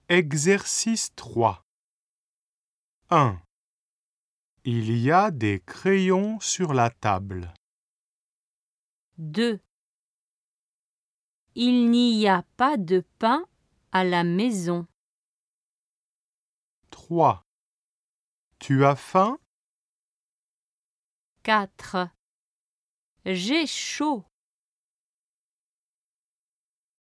Exercice 3. 1. Il y a des crayons sur la table. 2. Il n'y a pas de pain à la maison. 3. Tu as faim? 4. J'ai chaud.